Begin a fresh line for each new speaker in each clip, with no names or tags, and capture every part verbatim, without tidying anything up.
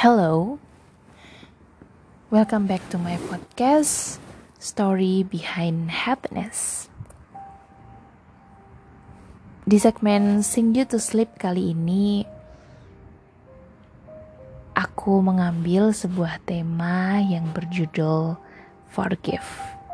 Hello, welcome back to my podcast, Story Behind Happiness. Di segmen Sing You to Sleep kali ini, aku mengambil sebuah tema yang berjudul Forgive.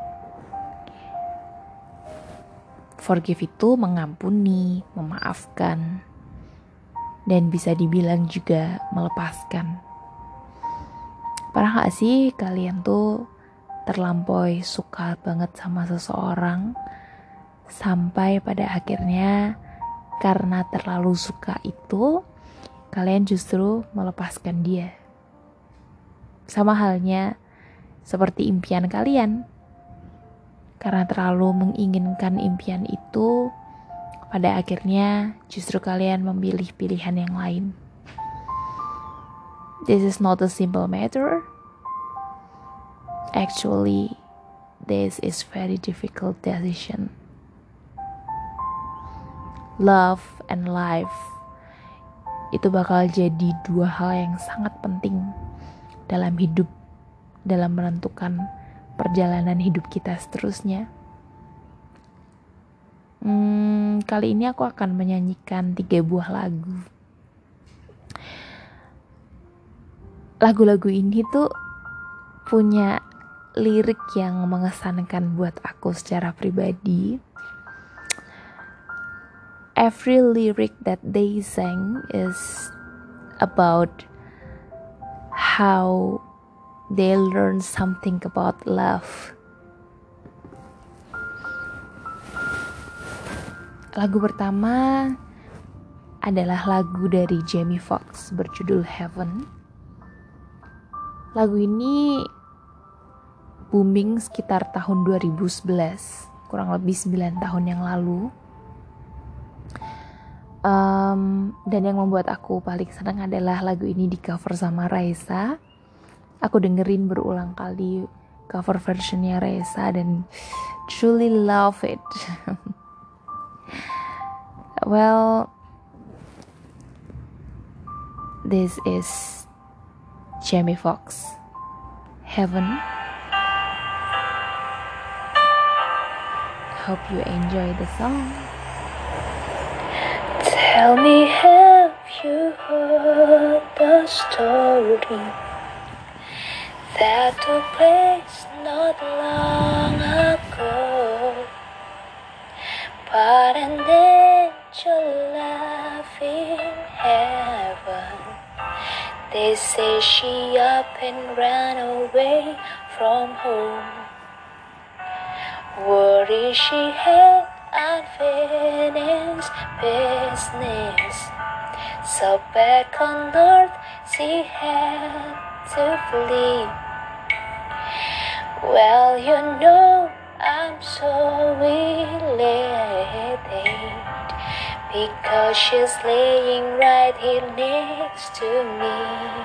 Forgive itu mengampuni, memaafkan, dan bisa dibilang juga melepaskan. Pernah gak sih kalian tuh terlampaui suka banget sama seseorang, sampai pada akhirnya karena terlalu suka itu, kalian justru melepaskan dia. Sama halnya seperti impian kalian. Karena terlalu menginginkan impian itu, pada akhirnya justru kalian memilih pilihan yang lain. This is not a simple matter. Actually, this is very difficult decision. Love and life itu bakal jadi dua hal yang sangat penting dalam hidup, dalam menentukan perjalanan hidup kita seterusnya. Hmm, kali ini aku akan menyanyikan tiga buah lagu. Lagu-lagu ini tuh punya lirik yang mengesankan buat aku secara pribadi. Every lyric that they sang is about how they learn something about love. Lagu pertama adalah lagu dari Jamie Foxx berjudul Heaven. Lagu ini booming sekitar tahun dua ribu sebelas, kurang lebih sembilan tahun yang lalu. Um, dan yang membuat aku paling senang adalah lagu ini di cover sama Raisa. Aku dengerin berulang kali cover versionnya Raisa dan truly love it. Well, this is Jamie Foxx, Heaven. Hope you enjoy the song.
Tell me, have you heard the story that took place not long ago? But an angel left in heaven. They say she up and ran away from home. Worry she had unfinished business, so back on earth she had to flee. Well, you know I'm so elated, because she's laying right here next to me.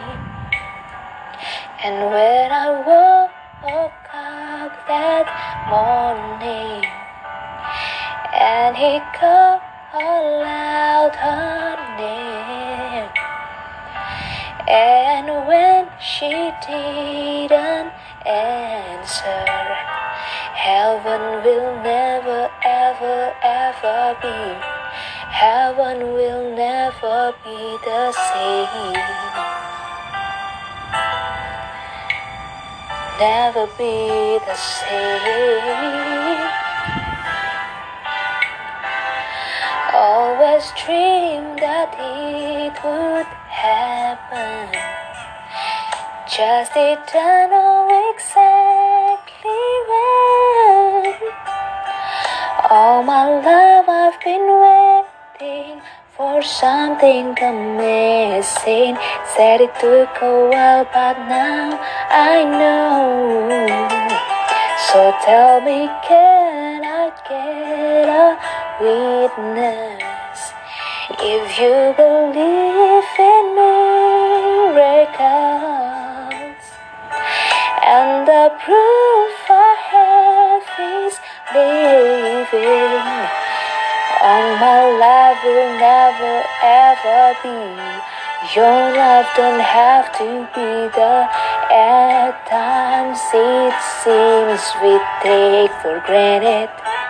And when I woke up that morning, and he called out her name, and when she didn't answer, heaven will never ever ever be, heaven will never be the same, never be the same. Always dreamed that it would happen, just didn't know exactly when. All my life I've been waiting for something amazing. Said it took a while, but now I know. So tell me, can I get a witness? If you believe in miracles, and the proof I have is living, all my life will never ever be Your love don't have to be there. At times it seems we take for granted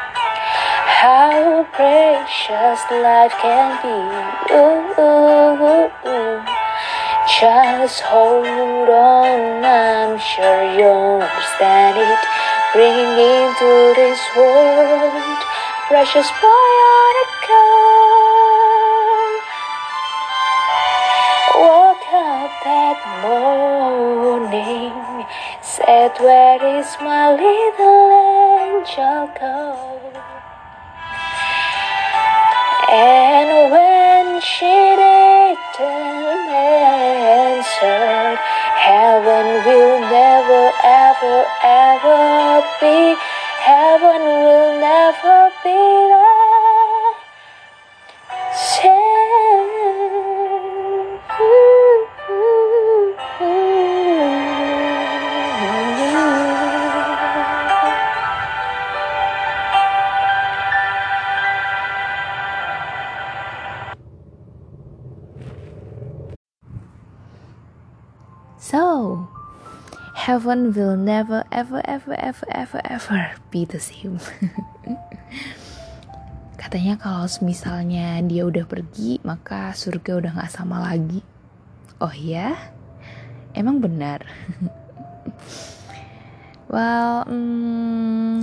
how precious life can be. Ooh, ooh, ooh, ooh. Just hold on, I'm sure you'll understand it. Bringing into this world precious boy on a girl. Woke up that morning, said, where is my little angel go? And when she didn't answer, heaven will never, ever, ever be. Heaven will never be there. Say,
So, heaven will never, ever, ever, ever, ever, ever be the same. Katanya kalau misalnya dia udah pergi, maka surga udah gak sama lagi. Oh ya? Emang benar? Well, hmm,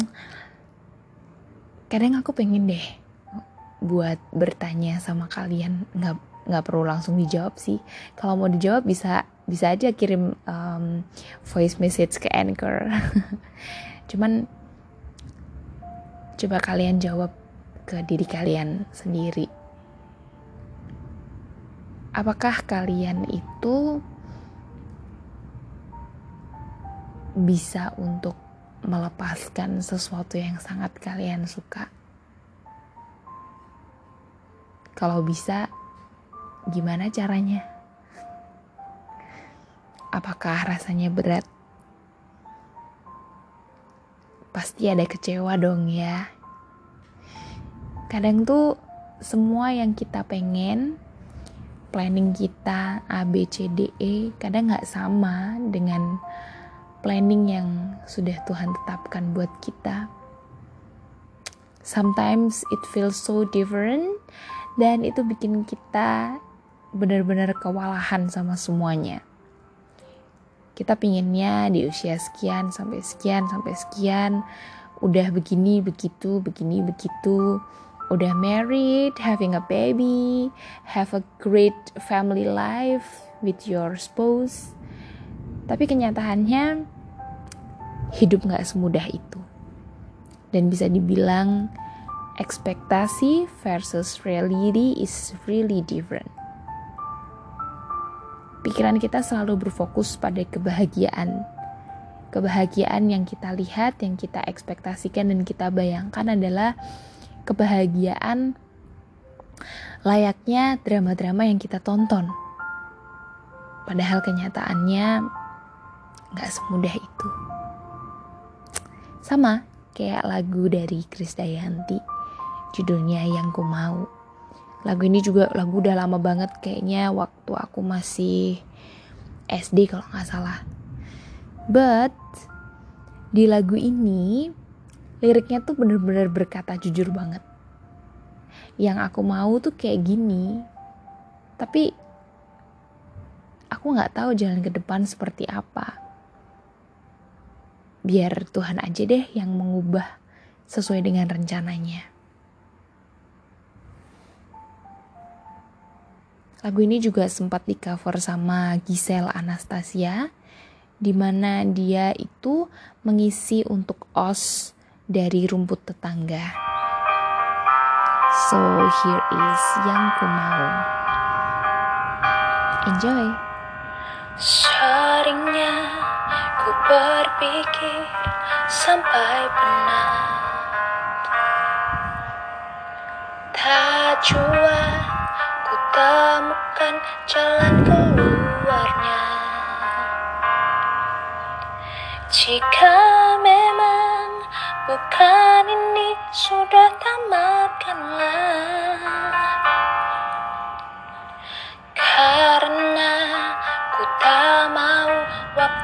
kadang aku pengen deh buat bertanya sama kalian. Gak, gak perlu langsung dijawab sih. Kalau mau dijawab bisa bisa aja kirim um, voice message ke Anchor. Cuman coba kalian jawab ke diri kalian sendiri. Apakah kalian itu bisa untuk melepaskan sesuatu yang sangat kalian suka? Kalau bisa, gimana caranya? Apakah rasanya berat? Pasti ada kecewa dong ya. Kadang tuh semua yang kita pengen, planning kita A, B, C, D, E, kadang gak sama dengan planning yang sudah Tuhan tetapkan buat kita. Sometimes it feels so different, dan itu bikin kita benar-benar kewalahan sama semuanya. Kita pinginnya di usia sekian sampai sekian sampai sekian udah begini begitu begini begitu, udah married, having a baby, have a great family life with your spouse. Tapi kenyataannya hidup gak semudah itu. Dan bisa dibilang ekspektasi versus reality is really different. Pikiran kita selalu berfokus pada kebahagiaan. Kebahagiaan yang kita lihat, yang kita ekspektasikan dan kita bayangkan adalah kebahagiaan layaknya drama-drama yang kita tonton. Padahal kenyataannya gak semudah itu. Sama kayak lagu dari Krisdayanti, judulnya Yang Ku Mau. Lagu ini juga lagu udah lama banget, kayaknya waktu aku masih S D kalau gak salah. But di lagu ini liriknya tuh bener-bener berkata jujur banget. Yang aku mau tuh kayak gini, tapi aku gak tahu jalan ke depan seperti apa. Biar Tuhan aja deh yang mengubah sesuai dengan rencananya. Lagu ini juga sempat di cover sama Giselle Anastasia, di mana dia itu mengisi untuk O S dari Rumput Tetangga. So here is Yang Ku Mau. Enjoy.
Seringnya ku berpikir sampai penat, tak jua ku temukan jalan keluarnya. Jika memang bukan ini, sudah tamatkanlah. Karena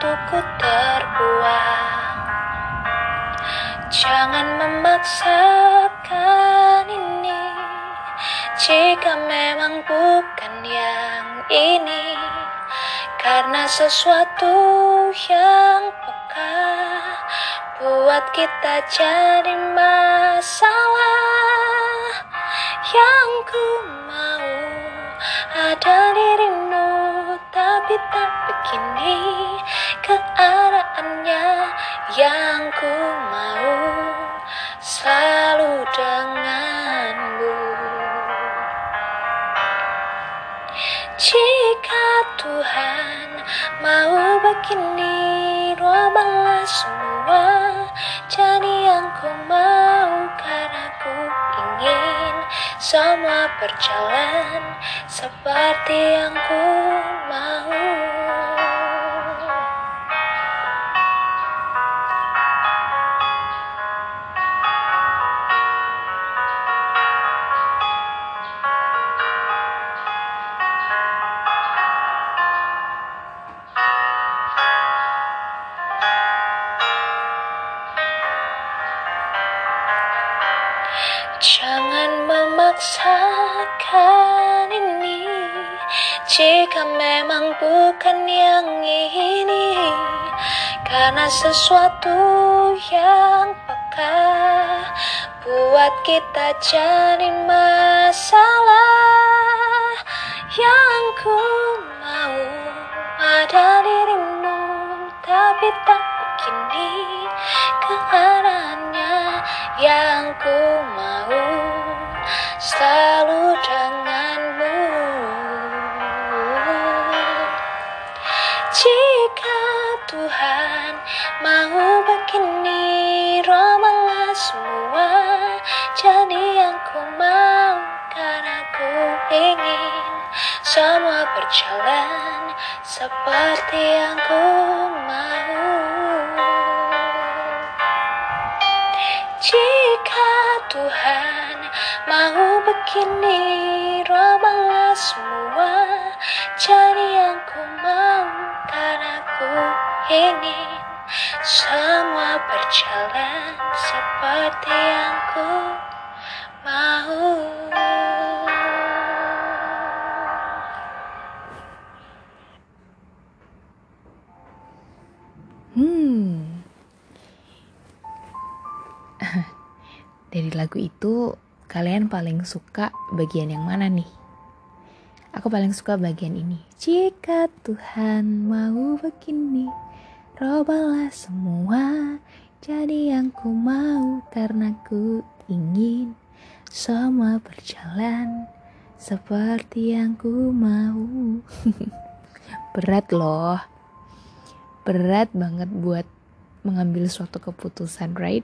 waktuku terbuang. Jangan memaksakan ini jika memang bukan yang ini, karena sesuatu yang peka buat kita jadi masalah. Yang ku mau ada dirimu, tapi tak begini keadaannya. Yang ku mau selalu denganmu. Jika Tuhan mau begini, robalah semua jadi yang ku mau, karena ku ingin semua berjalan seperti yang ku mau. Jangan memaksakan ini jika memang bukan yang ini, karena sesuatu yang peka buat kita jadi masalah. Yang ku mau ada dirimu, tapi tak begini keadaannya. Yang ku mau selalu denganmu. Jika Tuhan mau begini, robalah semua jadi yang ku mau, karena ku ingin semua berjalan seperti yang ku mau. Jika Tuhan mau begini, robalah semua jadi yang ku mau, karena ku ingin semua berjalan seperti yang ku mau.
Hmm. Dari lagu itu, kalian paling suka bagian yang mana nih? Aku paling suka bagian ini. Jika Tuhan mau begini, robalah semua jadi yang ku mau, karena ku ingin semua berjalan seperti yang ku mau. Berat loh. Berat banget buat mengambil suatu keputusan, right?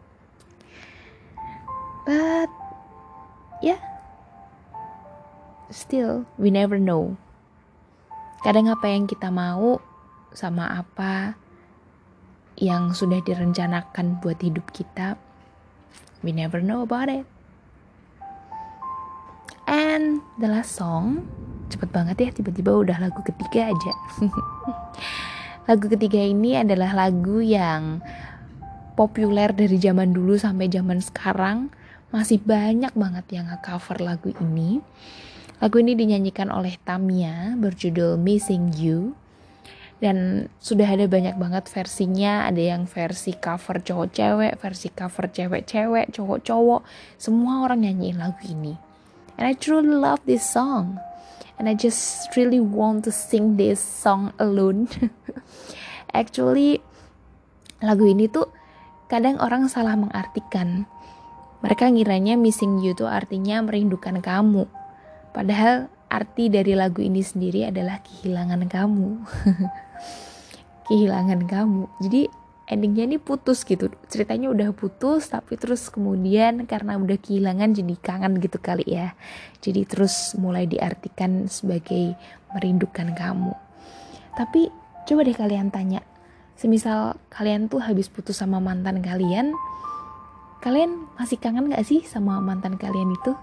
But yeah, still we never know. Kadang apa yang kita mau sama apa yang sudah direncanakan buat hidup kita, we never know about it. And the last song, cepet banget ya, tiba-tiba udah lagu ketiga aja. Lagu ketiga ini adalah lagu yang populer dari zaman dulu sampai zaman sekarang. Masih banyak banget yang nge-cover lagu ini. Lagu ini dinyanyikan oleh Tamia, berjudul Missing You. Dan sudah ada banyak banget versinya. Ada yang versi cover cowok-cewek, versi cover cewek-cewek, cowok-cowok. Semua orang nyanyiin lagu ini. And I truly love this song. And I just really want to sing this song alone. Actually, lagu ini tuh kadang orang salah mengartikan. Mereka ngiranya missing you tuh artinya merindukan kamu. Padahal arti dari lagu ini sendiri adalah kehilangan kamu. Kehilangan kamu. Jadi endingnya ini putus gitu. Ceritanya udah putus, tapi terus kemudian karena udah kehilangan jadi kangen gitu kali ya. Jadi terus mulai diartikan sebagai merindukan kamu. Tapi coba deh kalian tanya. Semisal kalian tuh habis putus sama mantan kalian, kalian masih kangen gak sih sama mantan kalian itu?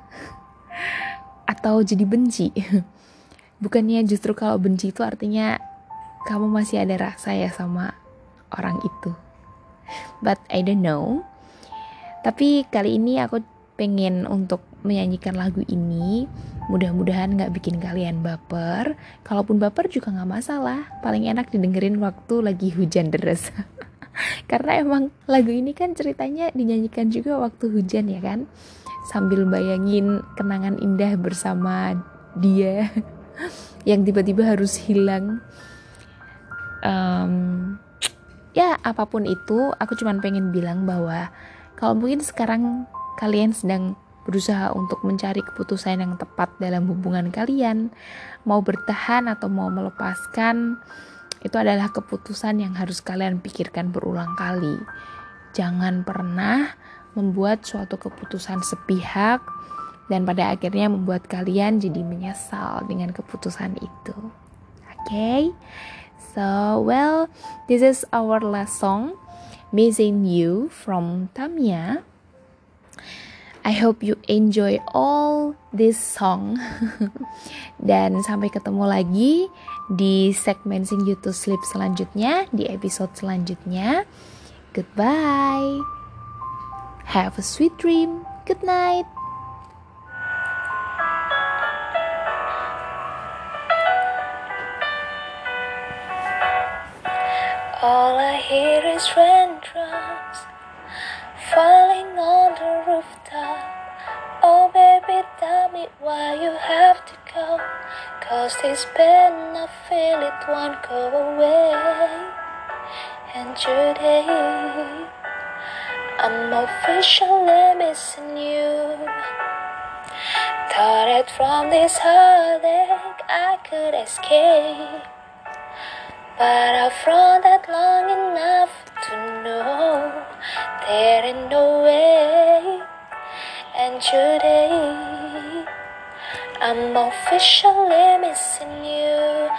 Atau jadi benci? Bukannya justru kalau benci itu artinya kamu masih ada rasa ya sama orang itu. But I don't know. Tapi kali ini aku pengen untuk menyanyikan lagu ini. Mudah-mudahan gak bikin kalian baper. Kalaupun baper juga gak masalah. Paling enak didengerin waktu lagi hujan deras. Karena emang lagu ini kan ceritanya dinyanyikan juga waktu hujan ya kan. Sambil bayangin kenangan indah bersama dia yang tiba-tiba harus hilang. um, Ya apapun itu, aku cuma pengen bilang bahwa kalau mungkin sekarang kalian sedang berusaha untuk mencari keputusan yang tepat dalam hubungan kalian, mau bertahan atau mau melepaskan, itu adalah keputusan yang harus kalian pikirkan berulang kali. Jangan pernah membuat suatu keputusan sepihak dan pada akhirnya membuat kalian jadi menyesal dengan keputusan itu. Oke? Okay? So, well, this is our last song, Missing You from Tamia. I hope you enjoy all this song. Dan sampai ketemu lagi di segmen Sing You to Sleep selanjutnya, di episode selanjutnya. Goodbye. Have a sweet dream. Good night.
All I hear is raindrops falling on the rooftop. Oh baby, tell me why you have to go. Cause this pain, I feel it won't go away. And today, I'm officially missing you. Thought that from this heartache I could escape, but I found that long enough to know there ain't no way. And today, I'm officially missing you.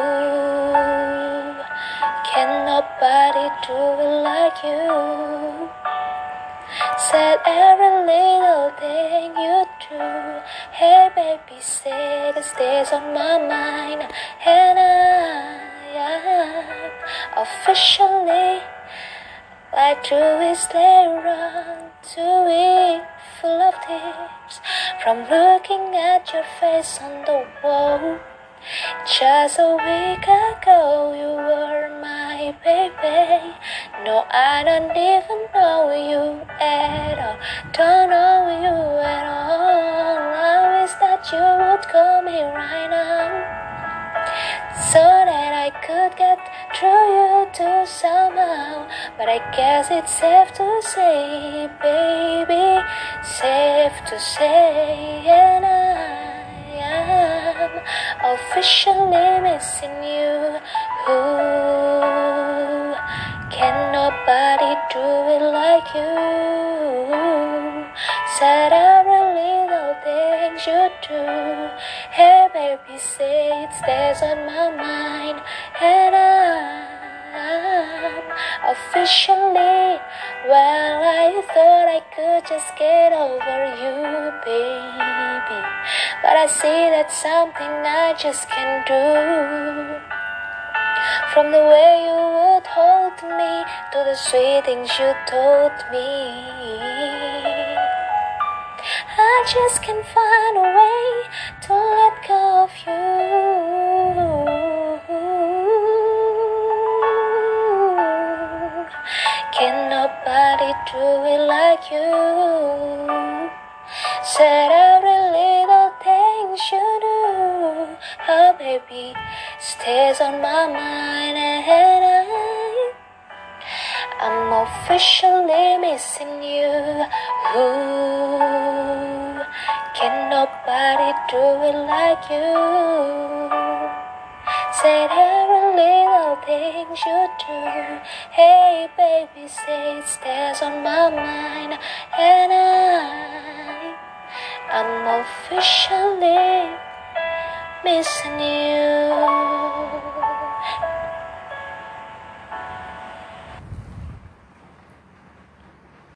Ooh, can nobody do it like you? Said every little thing you do. Hey baby, say it stays on my mind. And I am officially like Louis Leron, too weak, full of tears from looking at your face on the wall. Just a week ago you were my baby. No, I don't even know you at all. Don't know you at all. I wish that you would call me right now, so that I could get through you too somehow. But I guess it's safe to say, baby, safe to say, and I am officially missing you. Ooh, can nobody do it like you? Said every little thing you do. Hey baby, say it stays on my mind. And I'm officially, well, I thought I could just get over you, baby, but I see that's something I just can't do. From the way you would hold me to the sweet things you told me, I just can't find a way to let go of you. Can nobody do it like you? Said every little thing you do, oh baby, stays on my mind. And I, I'm officially missing you. Ooh, can nobody do it like you? Said every little thing you do. Hey baby, say it stays on my mind. And I, I'm officially missing you.